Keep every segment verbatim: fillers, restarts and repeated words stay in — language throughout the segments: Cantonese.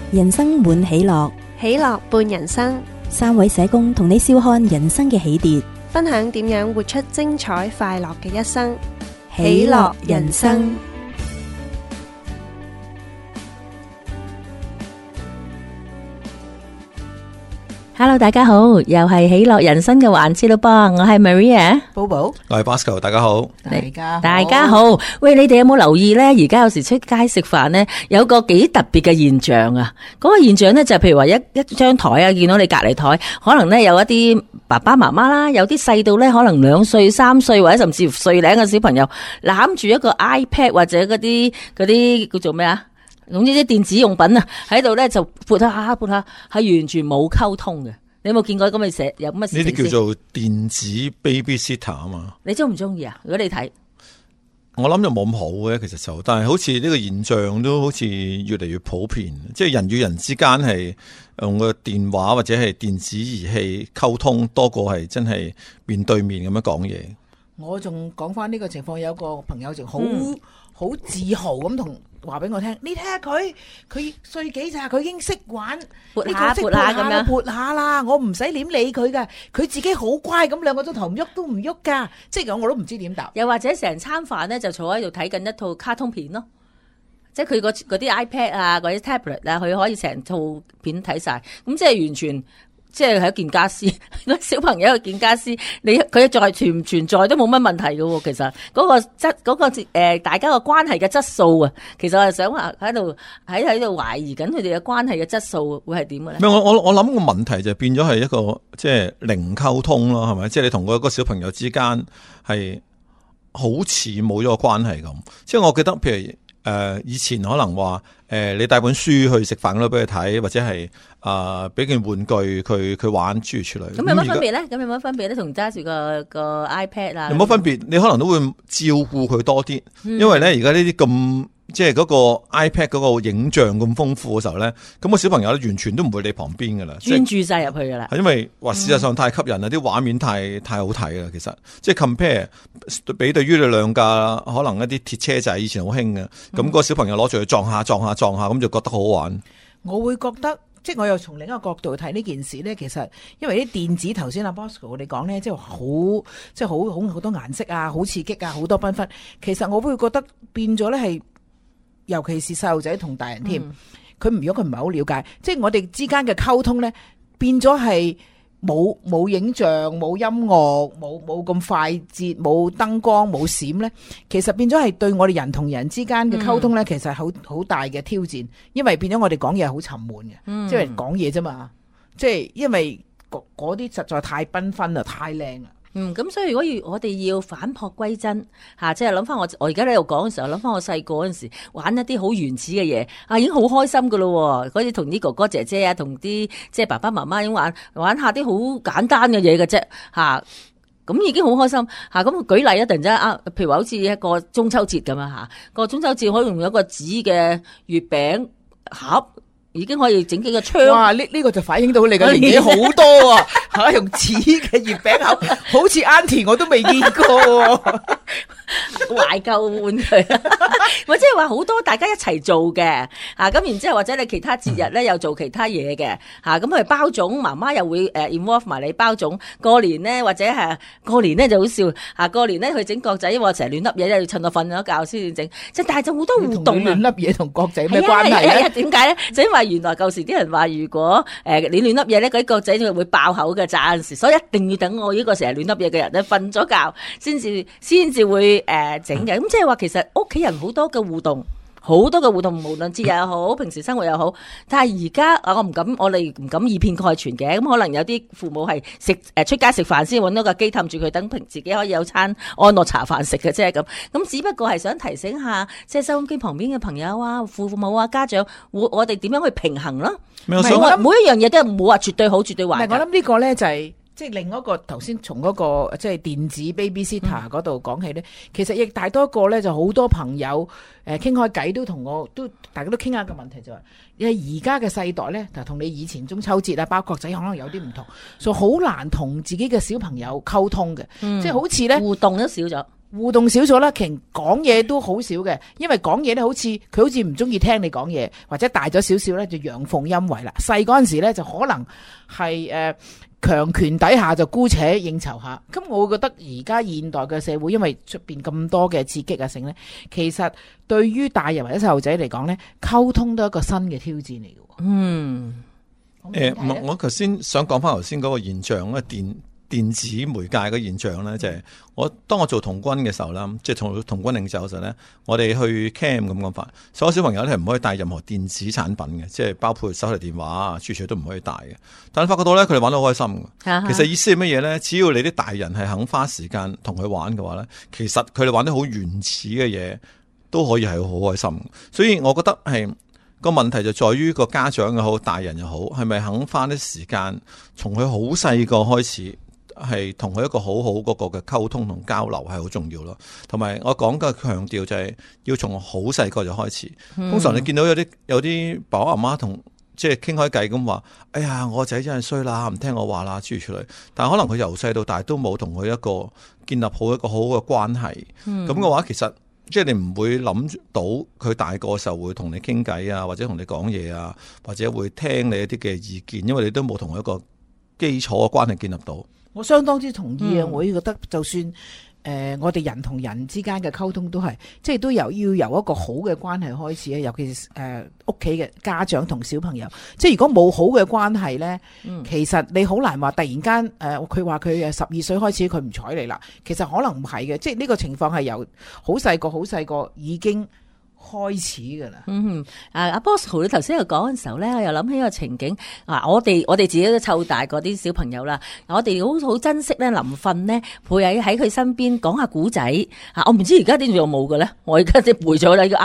人生滿喜樂， 喜樂伴人生。 三位社工同你笑看人生嘅起跌， 分享點樣活出精彩快樂嘅一生。 喜樂人生。Hello， 大家好，又係喜樂人生嘅環節咯噃，我係 Maria，Bobo， 我係 Bosco， 大家好， 大家好， 大家好。喂，你哋有冇留意咧？而家有時出街食飯咧，有個幾特別嘅現象啊！嗰、那個現象咧就係譬如話一一張台啊，見到你隔籬台，可能咧有一啲爸爸媽媽啦，有啲細到咧可能兩歲、三歲或者甚至乎歲零嘅小朋友攬住一個 iPad 或者嗰啲嗰啲叫做咩啊？總之啲電子用品啊，喺度咧就撥下撥下，係完全冇溝通嘅。你有冇見過咁嘅寫有乜？ 呢啲叫做電子 babysitter 啊嘛。你中唔中意啊？如果你睇， 我諗就冇咁好嘅，其實就，但係好似呢個現象都好似越嚟越普遍，即係人與人之間係用個電話或者係電子儀器溝通，多過係真係面對面咁樣講嘢。 我仲講翻呢個情況，有個朋友就好好、嗯、自豪咁同話俾我聽，你睇下佢，佢歲幾咋，佢已經識玩撥下撥下咁樣撥下啦，我唔使點理佢噶，佢自己好乖咁，兩個鐘頭唔喐都唔喐噶，即係咁我都唔知點答。 又或者成餐飯咧就坐喺度睇緊一套卡通片咯，即係佢嗰啲 iPad 啊，或者 tablet 啊，佢可以成套片睇晒，咁即係完全。即係係一件家私，小朋友一件家私，你佢再存唔存在都冇乜問題嘅。其實嗰個質嗰個誒，大家個關係嘅質素啊，其實我係想話喺度喺喺度懷疑緊佢哋嘅關係嘅質素會係點嘅咧？ 咩？我我我諗個問題就變咗係一個即係零溝通咯，係咪？即係你同嗰個小朋友之間係好似冇咗個關係咁。即係我記得，譬如誒、呃、以前可能話。誒、呃，你帶本書去食飯嗰度俾佢睇，或者係啊俾件玩具佢佢玩諸如此類。咁有乜分別咧？咁有乜分別咧？同揸住個個 iPad 啊？有冇分別？你可能都會照顧佢多啲、嗯，因為咧而家呢啲咁即係嗰個 iPad 嗰個影像咁豐富嘅時候咧，咁、個小朋友咧完全都唔會理旁邊噶啦， 專注晒入去噶啦。係因為話事實上太吸引啦，啲、嗯、畫面太太好睇啦。其實即係 compare 比對於你兩架可能一啲鐵車仔以前好興嘅，咁、嗯、個小朋友攞住去撞下撞下撞下，咁就覺得好好玩。 我會覺得，即係我又從另一個角度睇呢件事咧。其實因為啲電子頭先阿 Bosco 你講咧，即係好即係好好好多顏色啊，好刺激啊，好多繽紛。其實我會覺得變咗咧係，尤其是細路仔同大人添，佢、嗯、如果佢唔係好了解，即係我哋之間嘅溝通咧，變咗係。冇冇影像，冇音樂，冇冇咁快捷，冇燈光，冇閃咧，其實變咗係對我哋人同人之間嘅溝通咧、嗯，其實好好大嘅挑戰，因為變咗我哋講嘢好沉悶嘅、嗯，即係講嘢啫嘛，即係因為嗰啲實在太繽紛啦，太靚啦。 嗯，咁所以如果要我哋要返璞歸真吓，即係諗翻我我而家喺度講嘅時候，諗翻我細個嗰陣時玩一啲好原始嘅嘢啊，已經好開心噶咯，嗰啲同啲哥哥姐姐啊，同啲即係爸爸媽媽已經玩玩下啲好簡單嘅嘢嘅啫吓，咁已經好開心吓。咁舉例一突然間啊，譬如話好似一個中秋節咁樣吓，個中秋節可以用一個紙嘅月餅盒。已經可以整幾個窗。 哇！呢、這、呢個就反映到你嘅年紀好多啊！吓用紙嘅月餅盒，好似 Auntie 我都未見過。 懷舊玩具，或者係話好多大家一齊做嘅，啊咁然之後或者你其他節日咧又做其他嘢嘅，吓咁佢包粽，媽媽又會誒 involve 埋你包粽。過年咧或者係過年咧就好笑，吓過年咧佢整角仔，因為成日亂粒嘢，要趁我瞓咗覺先至整。即係但係就好多互動啊！ 亂粒嘢同角仔咩關係啊？ 點解咧？就因為原來舊時啲人話，如果誒你亂粒嘢咧，嗰啲角仔就會爆口嘅，暫時，所以一定要等我呢個成日亂粒嘢嘅人咧瞓咗覺，先至先至會誒整嘅。咁即係話，其實屋企人好多嘅互動，好多嘅互動，無論節日又好，平時生活又好。但係而家啊，我唔敢，我哋唔敢以偏概全嘅。咁可能有啲父母係食誒出街食飯先搵到個機氹住佢，等平自己可以有餐安樂茶飯食嘅啫。咁咁只不過係想提醒下，即係收音機旁邊嘅朋友啊、父母啊、家長，我我哋點樣去平衡咯？唔係我每一樣嘢都冇話絕對好、絕對壞。 唔係我諗呢個咧就係、是。即係另一個頭先從嗰個即係電子 babysitter 嗰度講起咧、嗯，其實亦大多個咧就好多朋友誒傾開偈都同我都大家都傾下個問題就係、是，因為而家嘅世代咧就同你以前中秋節啊包角仔可能有啲唔同，所以好難同自己嘅小朋友溝通嘅、嗯，即係好似咧互動都少咗。 互動少咗啦，其實講嘢都好少嘅，因為講嘢咧好似佢好似唔中意聽你講嘢，或者大咗少少咧就陽奉陰違啦。細嗰陣時咧就可能係誒強權底下就姑且應酬下。咁我會覺得而家現代嘅社會，因為出邊咁多嘅刺激啊性咧，其實對於大人或者細路仔嚟講咧，溝通都係一個新嘅挑戰嚟嘅。 嗯， 誒、呃，我頭先想講翻頭先嗰個現象咧，電。電子媒介嘅現象咧，就係、是、我當我做童軍嘅時候啦，即係同童軍領袖嘅時候咧，我哋去 camp 咁講法，所有小朋友咧係唔可以帶任何電子產品嘅，即係包括手提電話啊、處處都唔可以帶嘅。但係發覺到咧，佢哋玩得好開心嘅。其實意思係乜嘢咧？只要你啲大人係肯花時間同佢玩嘅話咧，其實佢哋玩得好原始嘅嘢都可以係好開心。所以我覺得係。個問題就在於個家長又好，大人又好，係咪肯花啲時間，從佢好細個開始，係同佢一個好好嗰個嘅溝通同交流係好重要咯。同埋我講嘅強調就係要從好細個就開始。嗯、通常你見到有啲有啲爸爸媽媽同即係傾開偈咁話，哎呀，我仔真係衰啦，唔聽我話啦，諸如此類。但係可能佢由細到大都冇同佢一個建立好一個好好嘅關係。咁嘅、嗯、話，其實。即係你唔會諗到佢大個時候會同你傾偈啊，或者同你講嘢啊，或者會聽你一啲嘅意見，因為你都冇同一個基礎嘅關係建立到。我相當之同意啊！嗯、我覺得就算。誒、呃，我哋人同人之間嘅溝通都係，即係都由要由一個好嘅關係開始咧。尤其是誒屋企嘅家長同小朋友，即係如果冇好嘅關係咧，嗯、其實你好難話突然間誒，佢話佢誒十二歲開始佢唔睬你啦。其實可能唔係嘅，即係呢個情況係由好細個好細個已經開始噶啦。嗯，啊阿 Bosco 你頭先又講嘅時候咧，我又諗起一個情景。啊，我哋我哋自己都湊大嗰啲小朋友啦，我哋好好珍惜咧，臨瞓咧陪喺喺佢身邊講下古仔。啊，我唔知而家點仲冇嘅咧，我而家即係背咗啦，呢個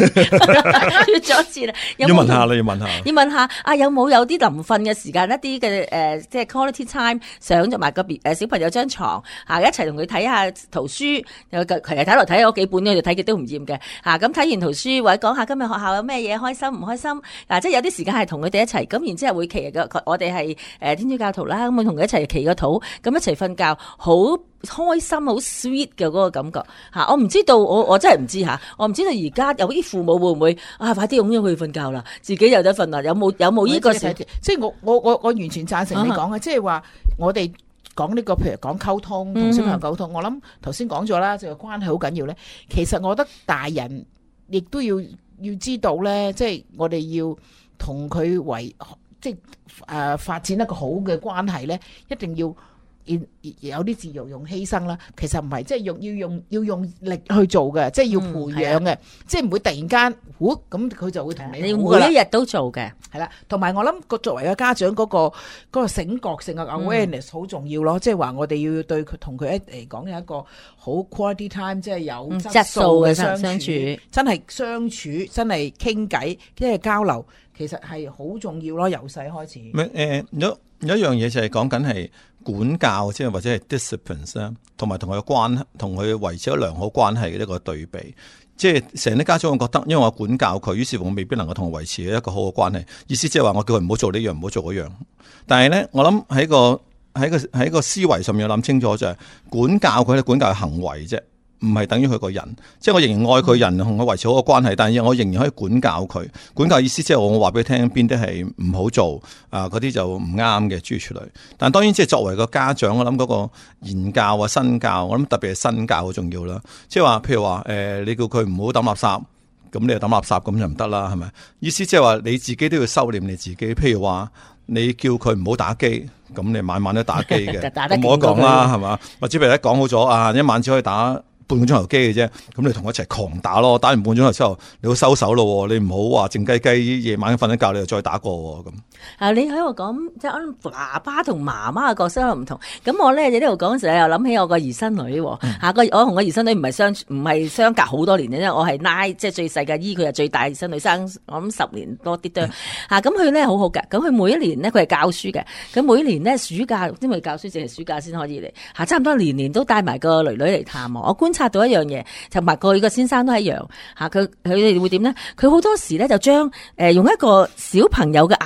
auntie 缺咗一次啦。要問下啦，要問下，要問下啊，有冇有啲臨瞓嘅時間一啲嘅誒，即係 quality time，上咗埋個別誒小朋友張床啊，一齊同佢睇下圖書，又其實睇嚟睇嗰幾本咧，就睇極都唔厭嘅。啊，咁睇完圖書或者講下今日學校有咩嘢開心唔開心，嗱、啊，即係有啲時間係同佢哋一齊，咁然之後會祈個，我哋係誒天主教徒啦，咁啊同佢一齊祈個禱，咁一齊瞓覺，好開心，好 sweet 嘅嗰個感覺吓、啊。我唔知道，我我真係唔知吓，我唔知道而家有啲父母會唔會啊，快啲擁咗去瞓覺啦，自己有得瞓啦，有冇有冇呢個時？即係我我我我完全贊成你講嘅，即係話我哋講呢個，譬如講溝通同小朋友溝通，嗯、我諗頭先講咗啦，就係關係好緊要咧。其實我覺得大人。亦都要要知道咧，即係我哋要同佢為即係誒、呃、發展一個好嘅關係咧，一定要有啲自由用犧牲啦。其實唔係，即係用要用要用力去做嘅，即係要培養嘅，嗯、即係唔會突然間，呼咁佢就會同你。你要每一日都做嘅，係啦。同埋我諗個作為個家長嗰、嗰個嗰、嗰個醒覺性嘅 awareness 好、嗯、重要咯。即係話我哋要對佢同佢一嚟講有一個好 quality time，即係有質素嘅相處，嗯、相處真係相處，真係傾偈，即係交流，其實係好重要咯。由細開始。誒、呃，有有一樣嘢就係講緊係。管教即係或者係 disciplines 啦，同埋同佢嘅關同佢維持咗良好關係嘅一個對比，即係成啲家長會覺得，因為我管教佢，於是乎我未必能夠同佢維持一個好嘅關係。意思即係話我叫佢唔好做呢樣，唔好做嗰樣。但係咧，我諗喺個喺個喺個思維上面諗清楚就係管教佢，管教嘅行為啫。唔係等於佢個人，即係我仍然愛佢人，同佢維持好個關係，但係我仍然可以管教佢。管教意思即係我話俾佢聽邊啲係唔好做，啊嗰啲就唔啱嘅諸如此類。但係當然即係作為個家長，我諗嗰個言教啊、身教，我諗特別係身教好重要啦。即係話譬如話誒、呃，你叫佢唔好抌垃圾，咁你就抌垃圾咁就唔得啦，係咪？意思即係話你自己都要收斂你自己。譬如話你叫佢唔好打機，咁你晚晚都打機嘅，冇得講啦，係嘛？或者譬如咧講好咗啊，一晚只可以打半個鐘頭機嘅啫，咁你同我一齊狂打咯，打完半個鐘頭之後，你好收手咯，你唔好話靜雞雞夜晚瞓一覺，你又再打過咁。啊，你喺度講即係爸爸同媽媽嘅角色又唔同，咁我咧喺呢度講嘅時候又諗起我個兒孫女，吓個、嗯、我同個兒孫女唔係相唔係相隔好多年嘅，因為我係拉即係最細嘅姨，佢係最大兒孫女，生我諗十年多啲多吓，咁佢咧好好嘅，咁佢每一年咧佢係教書嘅，咁每一年咧暑假因為教書淨係暑假先可以嚟，吓差唔多年年都帶埋個女女嚟探我，我觀察到一樣嘢，同埋佢個先生都一樣吓，佢佢哋會點咧？佢好多時咧就將誒、呃、用一個小朋友嘅眼睛去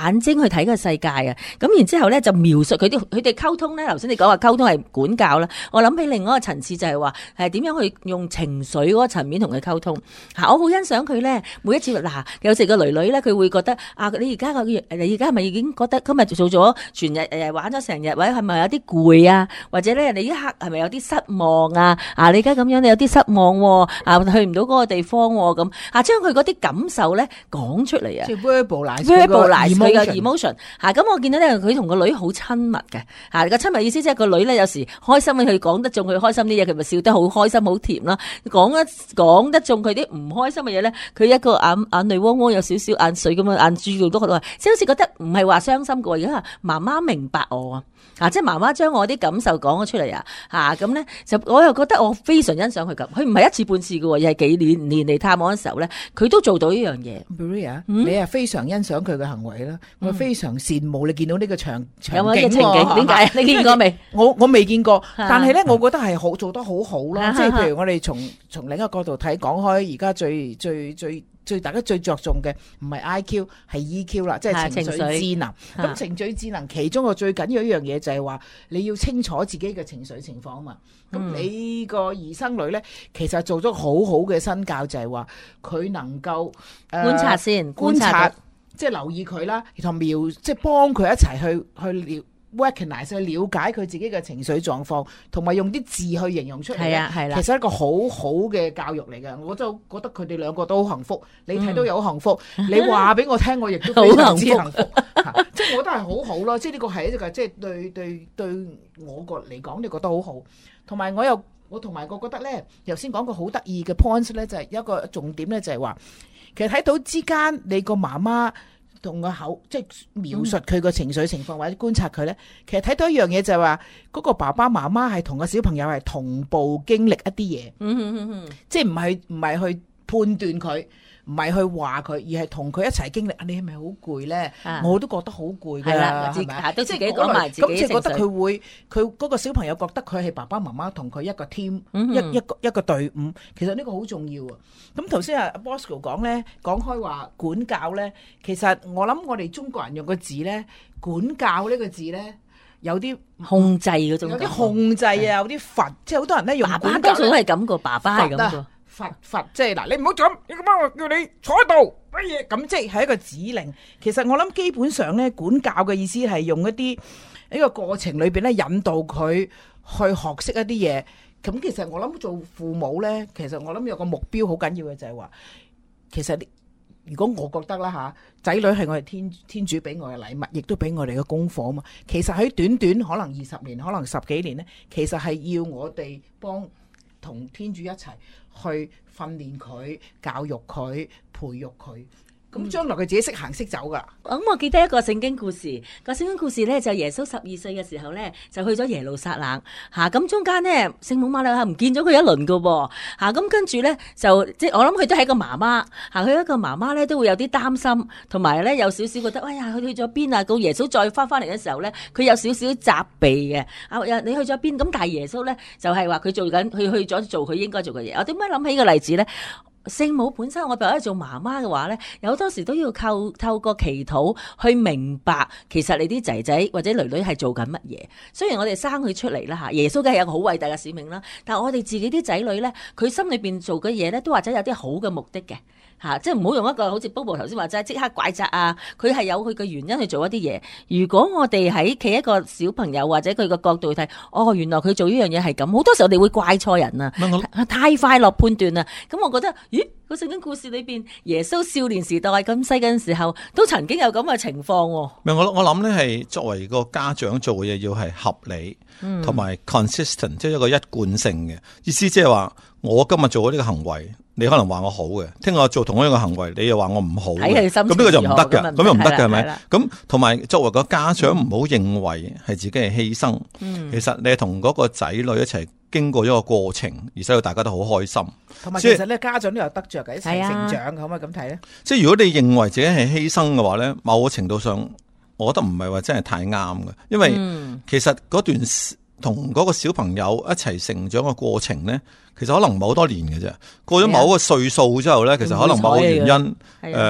去睇個世界啊。咁然之後咧就描述佢啲佢哋溝通咧。頭先你講話溝通係管教啦，我諗起另外一個層次就係話係點樣去用情緒嗰個層面同佢溝通嚇。我好欣賞佢咧，每一次嗱有時個女女咧佢會覺得啊，你而家個你而家係咪已經覺得今日做咗全日誒玩咗成日，或者係咪有啲攰啊？或者咧你一刻係咪有啲失望啊？啊你而家咁樣你有啲失望喎，啊去唔到嗰個地方喎咁啊，將佢嗰啲感受咧講出嚟啊， 即係 verbalize verbalize 佢嘅 emotion 嚇。咁我見到咧佢同個女好親密嘅嚇，個親密意思即係個女咧有時開心佢講得中佢開心啲嘢，佢咪笑得好開心好甜啦。講得講得中佢啲唔開心嘅嘢咧，佢一個眼眼淚汪汪有少少眼水咁樣眼珠都覺得，即係好似覺得唔係話傷心嘅喎，而家媽媽明白我啊。啊！即係媽媽將我啲感受講咗出嚟啊！嚇咁咧，就我又覺得我非常欣賞佢咁。佢唔係一次半次嘅喎，而係幾年年嚟探望嘅時候咧，佢都做到呢樣嘢。 Maria，你係非常欣賞佢嘅行為啦，我非常羨慕你見到呢個場場景。 有冇嘅情景？點解？你見過未？ 我我未見過，但係咧，我覺得係好做得好好咯。即係譬如我哋從從另一個角度睇，講開而家最最最。最大家最着重嘅唔係 I Q 係 E Q 啦，即係情緒智能。咁情緒智能其中個最緊要一樣嘢就係話你要清楚自己嘅情緒情況啊嘛。咁、嗯、你個兒生女咧，其實做咗好好嘅身教，就係話佢能夠、呃、 觀察先， 觀察即係留意佢啦，同描即係幫佢一齊去去了。recognize 去了解佢自己嘅情緒狀況，同埋用啲字去形容出嚟。係啊，係啦，其實係一個好好嘅教育嚟嘅。我就覺得佢哋兩個都好幸福，你睇到有幸福，嗯、你話俾我聽，我亦都非常之幸福。即係我覺得係好好咯，即係呢個係一個即係對對對我個嚟講，你覺得好好。同埋我又我同埋我覺得咧，頭先講個好得意嘅 point 咧，就係一個重點咧，就係話其實睇到之間你個媽媽。同個口即係描述佢個情緒情況、嗯、或者觀察佢咧，其實睇到一樣嘢就係話嗰個爸爸媽媽係同個小朋友係同步經歷一啲嘢，嗯嗯嗯嗯，即係唔係唔係去判斷佢，唔係去話佢，而係同佢一齊經歷。你係咪好攰咧？我都覺得好攰㗎啦，係咪？都自己講埋自己情緒。咁即係覺得佢會，佢嗰個小朋友覺得佢係爸爸媽媽同佢一個 team，、嗯、一一個一個隊伍。其實呢個好重要啊。咁頭先阿 Bosco 講咧，講開話管教咧，其實我諗我哋中國人用個字咧，管教呢個字咧，有啲控制嗰種，有啲控制啊，有啲罰，即係好多人咧用管教。爸爸多數都係咁個，爸爸係咁個。罰罰即係嗱，你唔好咁，你咁樣我叫你坐喺度乜嘢咁，即係係一個指令。其實我諗基本上咧，管教嘅意思係用一啲呢個過程裏邊咧，引導佢去學識一啲嘢。咁其實我諗做父母咧，其實我諗有個目標好緊要嘅就係話，其實如果我覺得啦吓，仔女係我哋天天主俾我嘅禮物，亦都俾我哋嘅功課啊嘛。其實喺短短可能二十年，可能十幾年咧，其實係要我哋幫同天主一齊去訓練佢、教育佢、培育佢。咁將來佢自己識行識走噶。咁我記得一個聖經故事，個聖經故事咧就耶穌十二歲嘅時候咧就去咗耶路撒冷嚇，咁、啊、中間咧聖母瑪利亞唔見咗佢一輪噶喎嚇，咁跟住咧就即係我諗佢都係一個媽媽嚇，佢、啊、一個媽媽咧都會有啲擔心，同埋咧有少少覺得哎呀佢去咗邊啊？到耶穌再翻翻嚟嘅時候咧，佢有少少責備嘅啊，你去咗邊？咁但係耶穌咧就係話佢做緊，佢去咗做佢應該做嘅嘢。我點解諗起個例子咧？聖母本身，我譬如做媽媽嘅話咧，有好多時都要靠透過祈禱去明白，其實你啲仔仔或者女女係做緊乜嘢。雖然我哋生佢出嚟啦嚇，耶穌梗係有個好偉大嘅使命啦，但係我哋自己啲仔女咧，佢心裏邊做嘅嘢咧，都或者有啲好嘅目的嘅嚇，即係唔好用一個好似 Bobo 頭先話齋即刻怪責啊，佢係有佢嘅原因去做一啲嘢。如果我哋喺企一個小朋友或者佢個角度去睇，哦，原來佢做呢樣嘢係咁，好多時候我哋會怪錯人啊，太快落判斷啊，咁我覺得。咦，個聖經故事裏邊，耶穌少年時代咁細嘅時候，都曾經有咁嘅情況。唔係我我諗咧，係作為個家長做嘅嘢，要係合理，同埋 consistent，即係一個一貫性嘅意思，即係話我今日做咗呢個行為，你可能話我好嘅，聽日我做同一個行為，你又話我唔好嘅，咁呢個就唔得嘅，咁又唔得嘅係咪？咁同埋作為個家長，唔好認為係自己係犧牲，嗯、其實你係同嗰個仔女一齊。經過一個過程，而使到大家都好開心。同埋其實咧，家長都有得着嘅，一齊成長，可唔可以咁睇咧？即係如果你認為自己係犧牲嘅話咧，某個程度上，我覺得唔係話真係太啱嘅，因為其實嗰段同嗰個小朋友一齊成長嘅過程咧，其實可能唔係好多年嘅啫。過咗某個歲數之後咧，其實可能某個原因，誒、呃，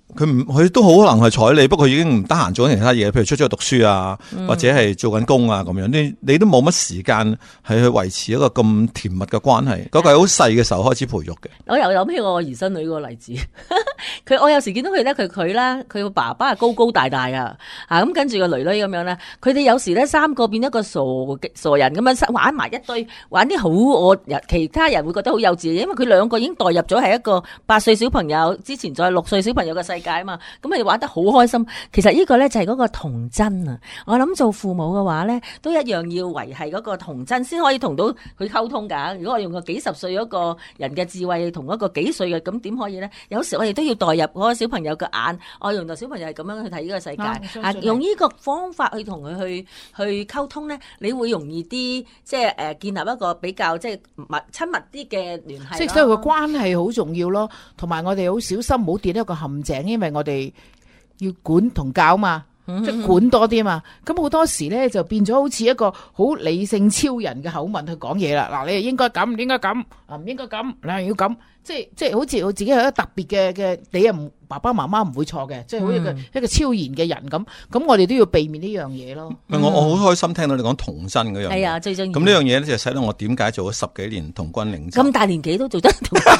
佢唔佢都好可能係睬你，不過已經唔得閒做緊其他嘢，譬如出咗去讀書啊，或者係做緊工啊咁樣，你你都冇乜時間係去維持一個咁甜蜜嘅關係。嗰個係好細嘅時候開始培育嘅。 我又諗起我兒孫女個例子，佢我有時見到佢咧，佢佢啦，佢個爸爸係高高大大啊，啊咁跟住個女女咁樣咧，佢哋有時咧三個變一個傻傻人咁樣玩埋一堆，玩啲好我其他人會覺得好幼稚嘅，因為佢兩個已經代入咗係一個八歲小朋友之前再六歲小朋友嘅世界啊嘛，咁佢哋玩得好開心。其實呢個咧就係嗰個童真啊！我諗做父母嘅話咧，都一樣要維繫嗰個童真，先可以同到佢溝通噶。如果我用個幾十歲嗰個人嘅智慧同一個幾歲嘅，咁點可以咧？有時我哋都要代入嗰個小朋友嘅眼，我原來小朋友係咁樣去睇呢個世界，啊，用呢個方法去同佢去去溝通咧，你會容易啲，即係誒建立一個比較即係密親密啲嘅聯繫。即係所以個關係好重要咯，同埋我哋好小心唔好跌一個陷阱，因為我哋要管同教嘛。即係管多啲嘛，咁好多時咧就變咗好似一個好理性超人嘅口吻去講嘢啦。嗱，你係應該咁，應該咁，啊唔應該咁，你係要咁，即係即係好似我自己係一個特別嘅嘅，你又唔爸爸媽媽唔會錯嘅，即係好似一個、嗯、一個超然嘅人咁。咁我哋都要避免呢樣嘢咯。嗯、我我好開心聽到你講童真嗰樣。 係啊，最重要。 咁呢樣嘢咧就使到我點解做咗十幾年童軍領袖。 咁大年紀都做得童軍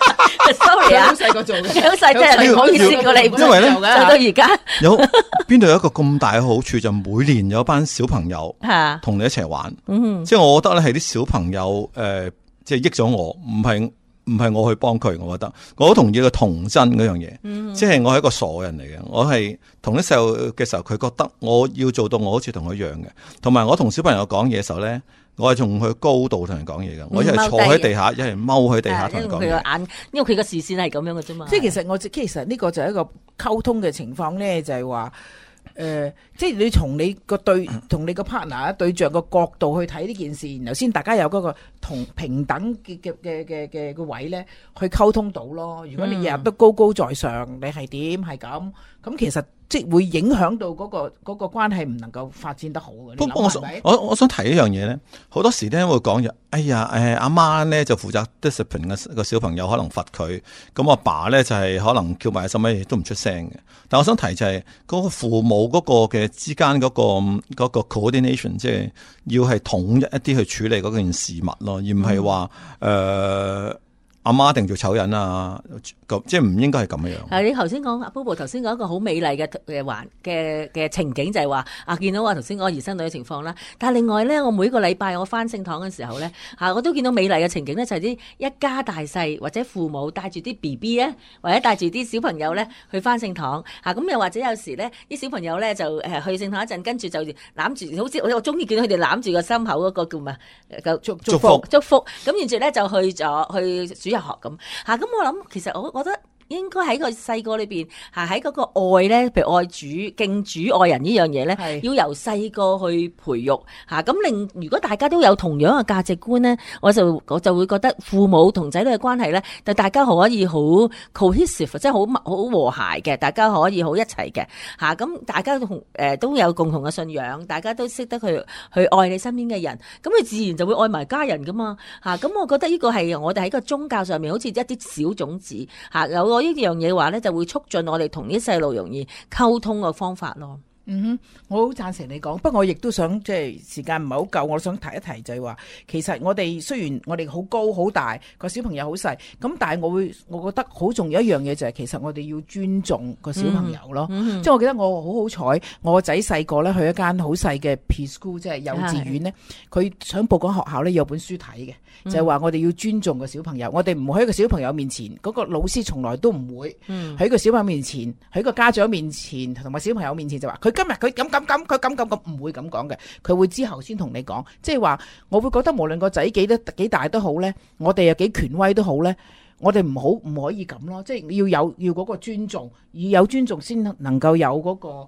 ？Sorry 啊，好細個做嘅，好細真係唔好意思過你， 因為咧做到而家有邊度有一個咁大嘅好處，就每年有一班小朋友同你一齊玩， 嗯、 即係我覺得咧係啲小朋友誒、呃，即係益咗我，唔係唔係我去幫佢，我覺得我好同意個童真嗰樣嘢，嗯、即係我係一個傻人嚟嘅，我係同啲細路嘅時候，佢覺得我要做到我好似同佢一樣嘅，同埋我同小朋友講嘢嘅時候咧。我係從佢高度同人講嘢嘅，我一係坐喺地下，一係踎喺地下同人講嘢。因為佢個眼，因為佢個視線係咁樣嘅啫嘛。 即係其實我其實呢個就係一個溝通嘅情況咧，就係話誒，即係你從你個對同你個 partner 對象個角度去睇呢件事，然後先大家有嗰個同平等嘅嘅嘅嘅嘅個位咧，去溝通到咯。如果你日日都高高在上，你係點係咁咁，其實。即係會影響到嗰、那個嗰、那個關係唔能夠發展得好嘅。不過我想我我想提一樣嘢咧，好多時咧會講就，哎呀誒阿媽咧就負責 discipline 嘅個小朋友，可能罰佢，咁阿爸咧就係、是、可能叫埋什麼嘢都唔出聲嘅。但我想提就係、是、嗰、那個父母嗰個嘅之間嗰、那個嗰、那個 coordination， 即係要係統一一啲去處理嗰件事物咯，而唔係話誒阿媽一定做醜人啊。即係唔應該係咁樣。 係你頭先講阿 Bobo 頭先講一個好美麗嘅嘅環嘅嘅情景，就係話啊見到話頭先講兒孫女嘅情況啦。但係另外咧，我每個禮拜我翻聖堂嘅時候咧，嚇我都見到美麗嘅情景咧，就係啲一家大細或者父母帶住啲 B B 咧，或者帶住啲小朋友咧去翻聖堂嚇。咁又或者有時咧，啲小朋友咧就誒去聖堂一陣，跟住就攬住，好似我我中意見到佢哋攬住個心口嗰個叫咩？祝祝福祝福。咁然住咧就去咗去主日學咁嚇。咁我諗其實我。我覺得應該喺個細個裏邊，係喺嗰個愛咧，譬如愛主、敬主、愛人呢樣嘢咧，要由細個去培育嚇。咁令如果大家都有同樣嘅價值觀咧，我就我就會覺得父母同仔女嘅關係咧，就大家可以好 cohesive，即係好好和諧嘅，大家可以好一齊嘅嚇。咁大家同誒都有共同嘅信仰，大家都識得去去愛你身邊嘅人，咁佢自然就會愛埋家人噶嘛嚇。咁我覺得呢個係我哋喺個宗教上面好似一啲小種子嚇有。我呢樣嘢話咧，就會促進我哋同啲細路容易溝通嘅方法咯。 嗯哼，我好贊成你講，不過我亦都想即係時間唔係好夠，我想提一提就係話，其實我哋雖然我哋好高好大，個小朋友好細，咁但係我會我覺得好重要一樣嘢就係，其實我哋要尊重個小朋友咯。嗯嗯、即係我記得我好好彩，我個仔細個咧去一間好細嘅 preschool，即係幼稚園咧，佢想報嗰學校咧有本書睇嘅，就係、是、話我哋要尊重個小朋友，我哋唔會喺個小朋友面前，嗰、那個老師從來都唔會喺個小朋友面前，喺個家長面前同埋小朋友面前就話佢。今日佢咁咁咁，佢咁咁咁，唔會咁講嘅。佢會之後先同你講，即係話，我會覺得無論個仔幾多幾大都好咧，我哋又幾權威都好咧，我哋唔好唔可以咁咯。即係要有要嗰個尊重，要有尊重先能夠有嗰個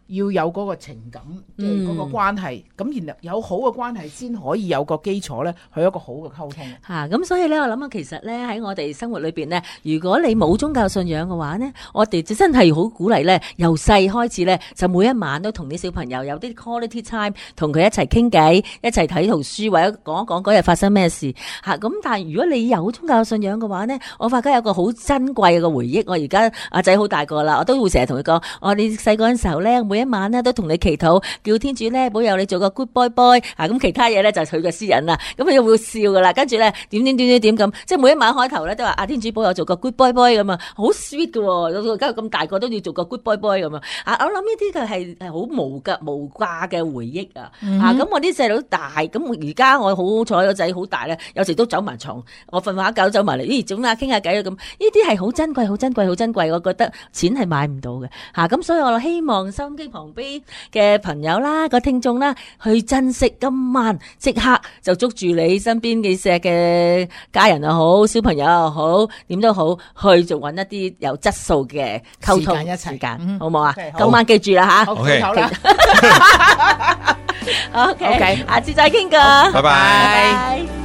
要有嗰個情感，即係嗰個關係，咁、嗯、然後有好嘅關係先可以有個基礎咧，去一個好嘅溝通。 嚇咁、啊、所以咧，我諗啊，其實咧喺我哋生活裏邊咧，如果你冇宗教信仰嘅話咧，我哋就真係好鼓勵咧，由細開始咧，就每一晚都同啲小朋友有啲 quality time，同佢一齊傾偈，一齊睇圖書或者講一講嗰日發生咩事嚇。咁、啊、但係如果你有宗教信仰嘅話咧，我發覺有個好珍貴嘅回憶。我而家阿仔好大個啦，我都會成日同佢講，我哋細個嗰陣時候咧，每一晚咧都同你祈禱，叫天主咧保佑你做個 good boy boy 啊！咁其他嘢咧就係佢嘅私隱啦。咁佢又會笑噶啦，跟住咧點點點點點咁，即係每一晚開頭咧都話阿天主保佑做個 good boy boy 咁啊，好 sweet 嘅喎。而家咁大個都要做個 good boy boy 咁啊！啊，我諗呢啲嘅係係好無價無價嘅回憶啊！嗯、啊，咁我啲細佬大，咁而家我好彩個仔好大咧，有時都走埋床，我瞓下覺走埋嚟，咦，總下傾下偈啊咁。呢啲係好珍貴、好珍貴、好珍貴，我覺得錢係買唔到嘅嚇。咁、啊、所以我希望收音機旁邊嘅朋友啦、個聽眾啦，去珍惜今晚，即刻就捉住你身邊嘅錫嘅家人又好，小朋友又好，點都好，去就揾一啲有質素嘅溝通時間一齊， 時間、 嗯、 好唔好啊？ okay, 好今晚記住啦嚇。 OK，好啦。 OK，下次再傾過。 拜拜。